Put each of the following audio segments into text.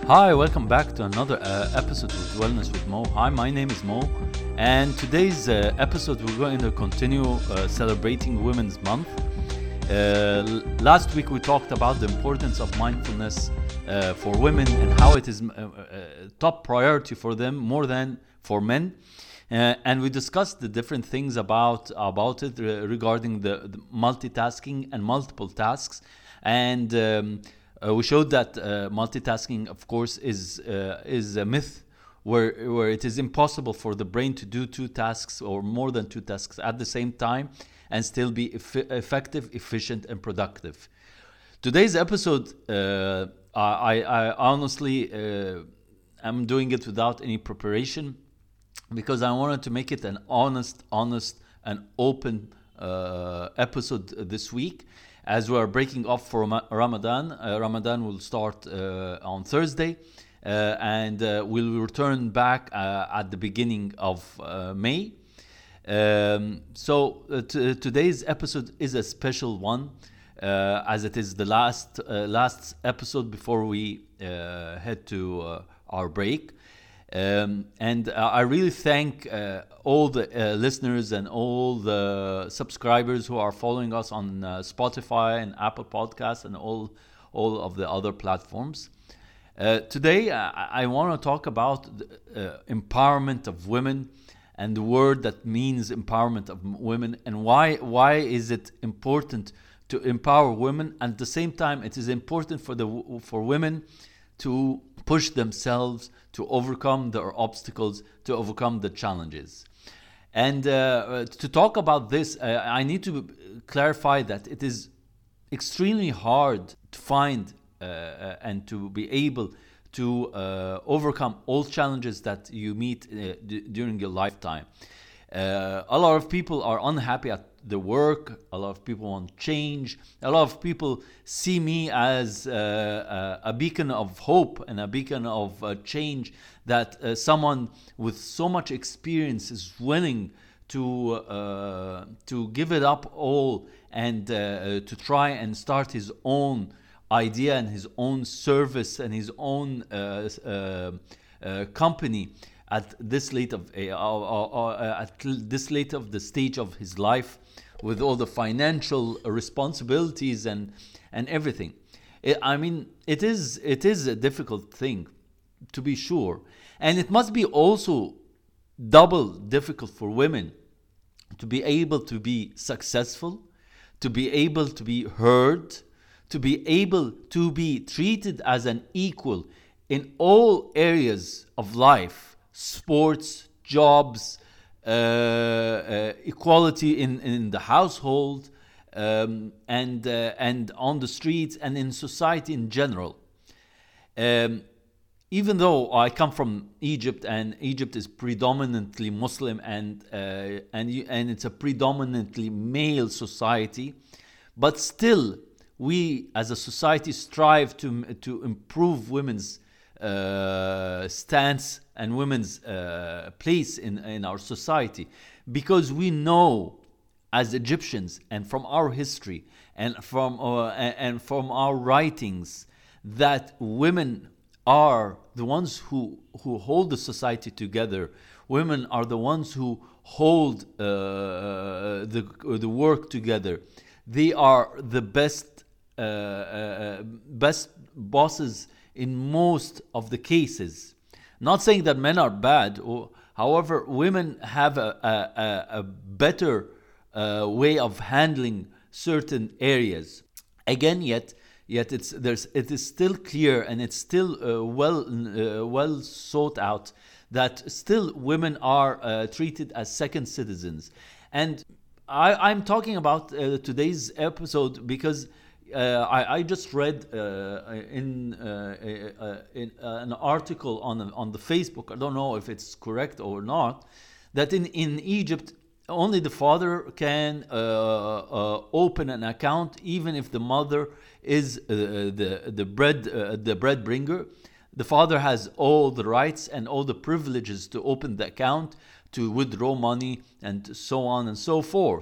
Hi, welcome back to another episode with Wellness with Mo. Hi, my name is Mo, and today's episode we're going to continue celebrating Women's Month. Last week we talked about the importance of mindfulness for women and how it is top priority for them more than for men. And we discussed the different things about it regarding the multitasking and multiple tasks, and we showed that multitasking, of course, is a myth, where it is impossible for the brain to do two tasks or more than two tasks at the same time and still be effective, efficient, and productive. Today's episode, I honestly am doing it without any preparation, because I wanted to make it an honest and open episode this week, as we are breaking off for Ramadan. Ramadan will start on Thursday, and we'll return back at the beginning of May. So today's episode is a special one, as it is the last episode before we head to our break. And I really thank all the listeners and all the subscribers who are following us on Spotify and Apple Podcasts and all of the other platforms. Today, I want to talk about empowerment of women and the word that means empowerment of women, and why is it important to empower women, and at the same time it is important for women to push themselves, to overcome their obstacles, to overcome the challenges. And to talk about this, I need to clarify that it is extremely hard to find and to be able to overcome all challenges that you meet during your lifetime. A lot of people are unhappy at the work. A lot of people want change. A lot of people see me as a beacon of hope and a beacon of change, that someone with so much experience is willing to give it up all and to try and start his own idea and his own service and his own company at this late of the stage of his life, with all the financial responsibilities and everything. It is a difficult thing, to be sure, and it must be also double difficult for women to be able to be successful, to be able to be heard, to be able to be treated as an equal in all areas of life. Sports, jobs, equality in the household, and on the streets and in society in general. Even though I come from Egypt, and Egypt is predominantly Muslim, and it's a predominantly male society, but still we as a society strive to improve women's stance and women's place in our society, because we know as Egyptians, and from our history and from our writings, that women are the ones who hold the society together. Women are the ones who hold the work together. They are the best bosses in most of the cases. Not saying that men are bad, however, women have a better way of handling certain areas. Again, yet it is still clear, and it's still well sought out, that still women are treated as second citizens. And I'm talking about today's episode because I just read in an article on the Facebook. I don't know if it's correct or not, that in Egypt only the father can open an account, even if the mother is the bread bringer. The father has all the rights and all the privileges to open the account, to withdraw money, and so on and so forth.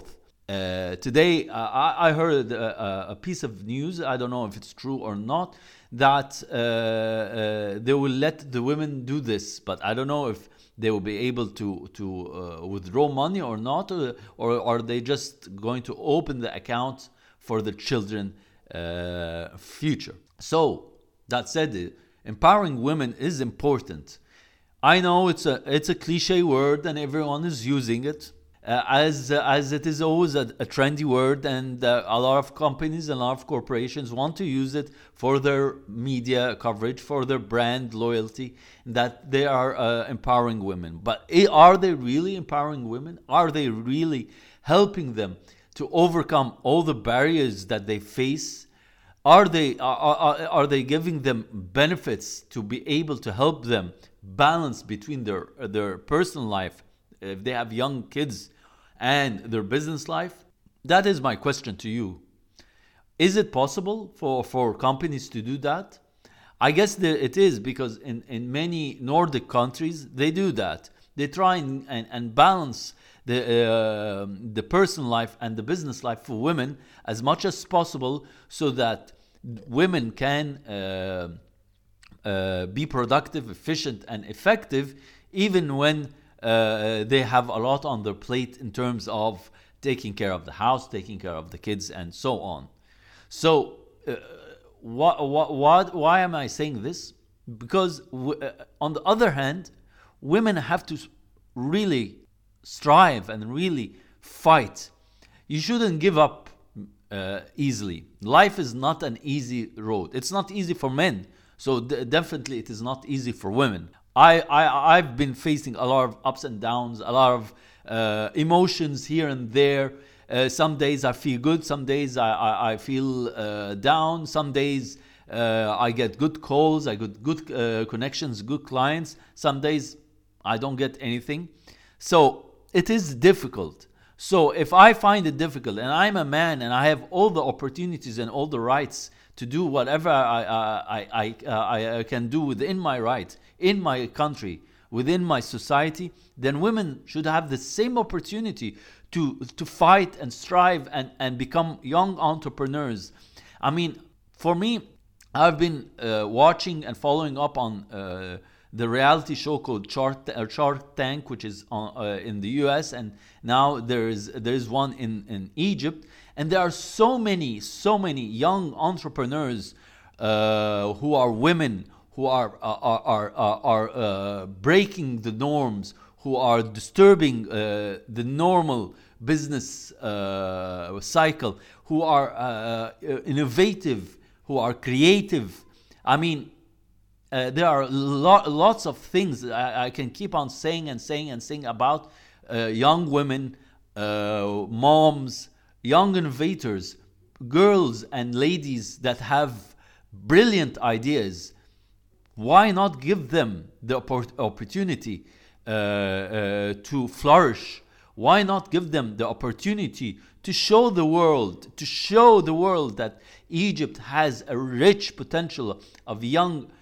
Today, I heard a piece of news. I don't know if it's true or not. That they will let the women do this, but I don't know if they will be able to withdraw money or not, or are they just going to open the account for the children future. So that said, empowering women is important. I know it's a cliche word and everyone is using it, as it is always a trendy word, and a lot of companies and a lot of corporations want to use it for their media coverage, for their brand loyalty, that they are empowering women. But are they really empowering women? Are they really helping them to overcome all the barriers that they face? Are they giving them benefits to be able to help them balance between their personal life, if they have young kids, and their business life? That is my question to you. Is it possible for companies to do that? I guess it is, because in many Nordic countries, they do that. They try and balance the personal life and the business life for women as much as possible, so that women can be productive, efficient, and effective, even when they have a lot on their plate in terms of taking care of the house, taking care of the kids, and so on. So, why am I saying this? Because on the other hand, women have to really strive and really fight. You shouldn't give up easily. Life is not an easy road. It's not easy for men, so definitely it is not easy for women. I've been facing a lot of ups and downs, a lot of emotions here and there. Some days I feel good, some days I feel down, some days I get good calls, I get good connections, good clients. Some days I don't get anything. So it is difficult. So if I find it difficult, and I'm a man and I have all the opportunities and all the rights to do whatever I can do within my rights, in my country, within my society, then women should have the same opportunity to fight and strive and become young entrepreneurs. I mean, for me, I've been watching and following up on the reality show called Shark Tank, which is in the US, and now there is one in Egypt, and there are so many young entrepreneurs who are women, who are breaking the norms, who are disturbing the normal business cycle, who are innovative, who are creative. I mean, there are lots of things I can keep on saying about young women, moms, young innovators, girls and ladies that have brilliant ideas. Why not give them the opportunity to flourish? Why not give them the opportunity to show the world that Egypt has a rich potential of young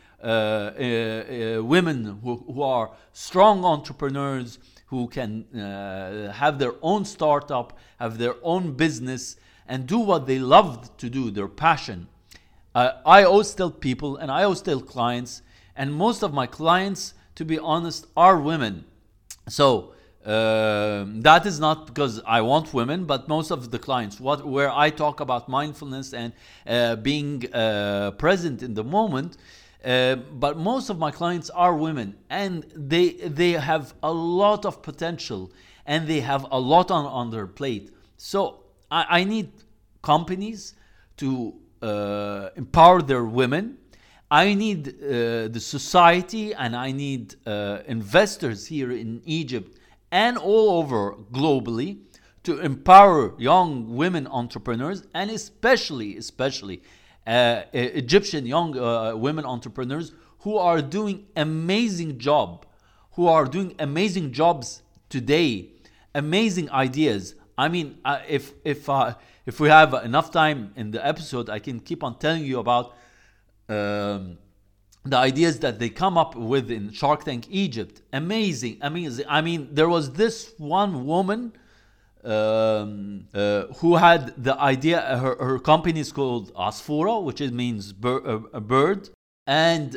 women who are strong entrepreneurs, who can have their own startup, have their own business, and do what they love to do, their passion. I always tell people, and I always tell clients, and most of my clients, to be honest, are women. So that is not because I want women, but most of the clients, where I talk about mindfulness and being present in the moment, but most of my clients are women, and they have a lot of potential, and they have a lot on their plate. So I need companies to empower their women. I need the society, and I need investors here in Egypt and all over globally to empower young women entrepreneurs, and especially Egyptian young women entrepreneurs who are doing amazing jobs today, amazing ideas. I mean, if we have enough time in the episode, I can keep on telling you about the ideas that they come up with in Shark Tank Egypt. Amazing. I mean, there was this one woman who had the idea. Her company is called Asfura, which means a bird, and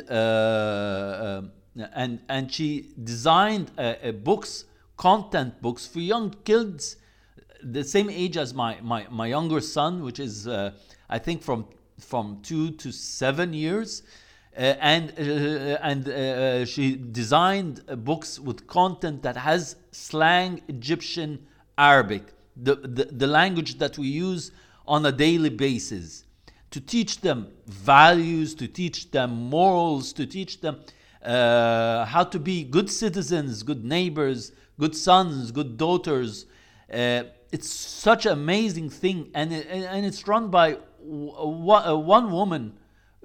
she designed books, content books for young kids, the same age as my younger son, which is I think from 2 to 7 years. And she designed books with content that has slang, Egyptian, Arabic, the language that we use on a daily basis, to teach them values, to teach them morals, to teach them how to be good citizens, good neighbors, good sons, good daughters. It's such an amazing thing, and it's run by one woman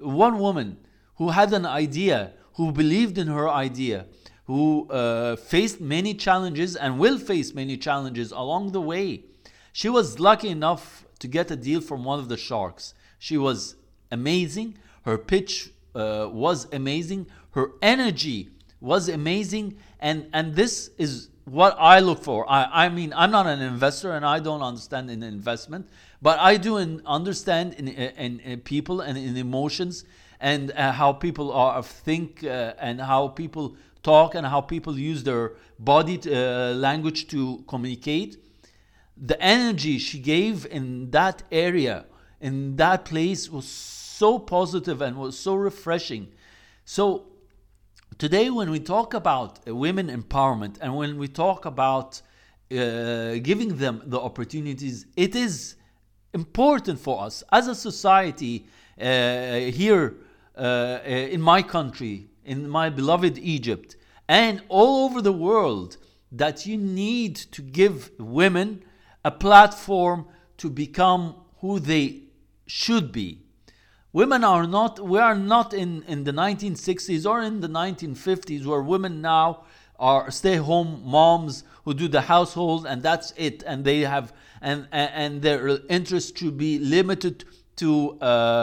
who had an idea, who believed in her idea, who faced many challenges and will face many challenges along the way. She was lucky enough to get a deal from one of the sharks. She was amazing. Her pitch was amazing. Her energy was amazing. And this is what I look for. I mean, I'm not an investor and I don't understand in investment, but I do understand in people and in emotions, and how people think, and how people talk, and how people use their body language to communicate. The energy she gave in that area, in that place, was so positive and was so refreshing. So today, when we talk about women empowerment, and when we talk about giving them the opportunities, it is important for us as a society here in my country, in my beloved Egypt, and all over the world, that you need to give women a platform to become who they should be. Women are not, we are not in the 1960s or in the 1950s, where women now are stay-home moms who do the household and that's it, and they have and their interest should be limited to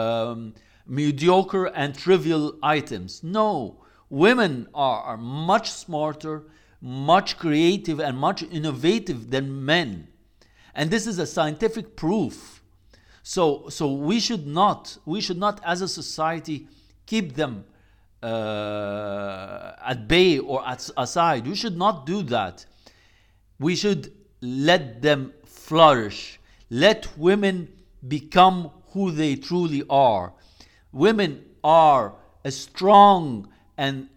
mediocre and trivial items. No, women are much smarter, much creative, and much innovative than men, and this is a scientific proof. So we should not as a society keep them at bay or aside. We should not do that. We should let them flourish. Let women become who they truly are. Women are a strong and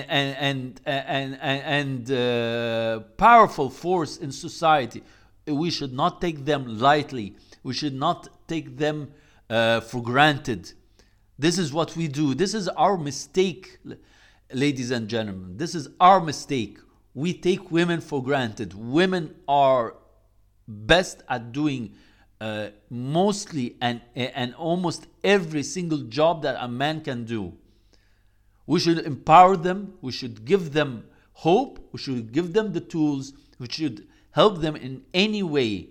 powerful force in society. We should not take them lightly. We should not take them for granted. This is what we do. This is our mistake, ladies and gentlemen. This is our mistake. We take women for granted. Women are best at doing mostly and almost every single job that a man can do. We should empower them. We should give them hope. We should give them the tools. We should help them in any way.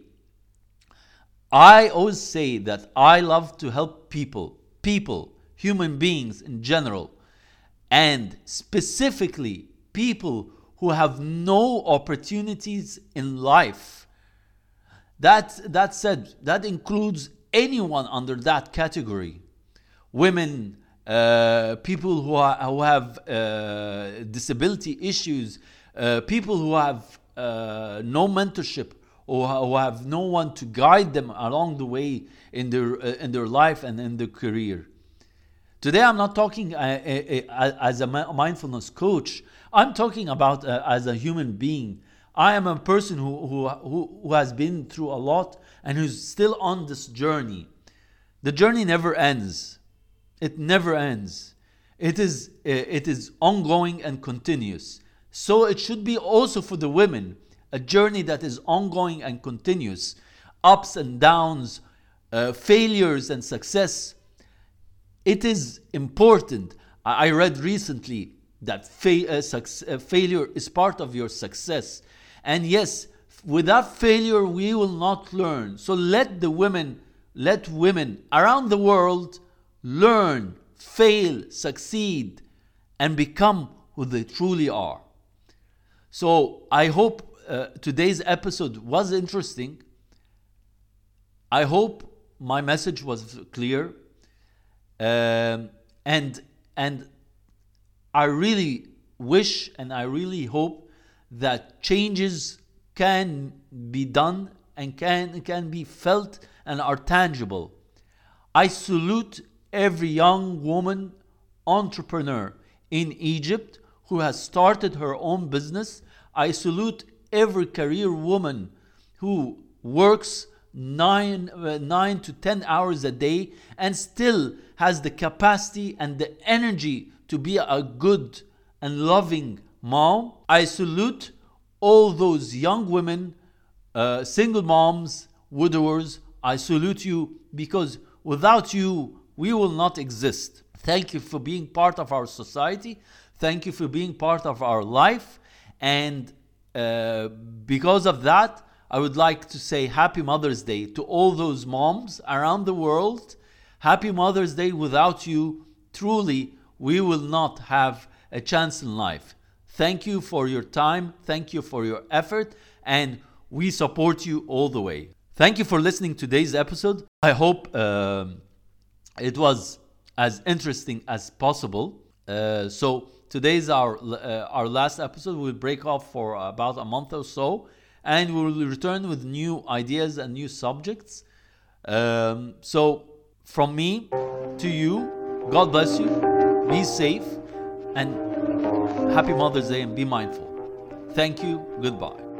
I always say that I love to help people, human beings in general, and specifically people who have no opportunities in life. That said, that includes anyone under that category. Women, people who have disability issues, people who have no mentorship, or who have no one to guide them along the way in their life and in their career. Today, I'm not talking as a mindfulness coach. I'm talking about as a human being. I am a person who has been through a lot and who's still on this journey. The journey never ends. It never ends. It is ongoing and continuous. So it should be also for the women, a journey that is ongoing and continuous. Ups and downs, failures and success. It is important. I read recently that failure is part of your success. And yes, without failure, we will not learn. So let women around the world learn, fail, succeed, and become who they truly are. So I hope today's episode was interesting. I hope my message was clear, and I really wish and I really hope that changes can be done and can be felt and are tangible. I salute every young woman entrepreneur in Egypt who has started her own business. I salute every career woman who works 9 to 10 hours a day and still has the capacity and the energy to be a good and loving mom. I salute all those young women, single moms, widowers. I salute you, because without you, we will not exist. Thank you for being part of our society. Thank you for being part of our life. And because of that, I would like to say Happy Mother's Day to all those moms around the world. Happy Mother's Day. Without you, truly, we will not have a chance in life. Thank you for your time. Thank you for your effort. And we support you all the way. Thank you for listening to today's episode. I hope it was as interesting as possible. So today's our last episode. We'll break off for about a month or so, and we will return with new ideas and new subjects. So from me to you, God bless you, be safe, and Happy Mother's Day, and be mindful. Thank you. Goodbye.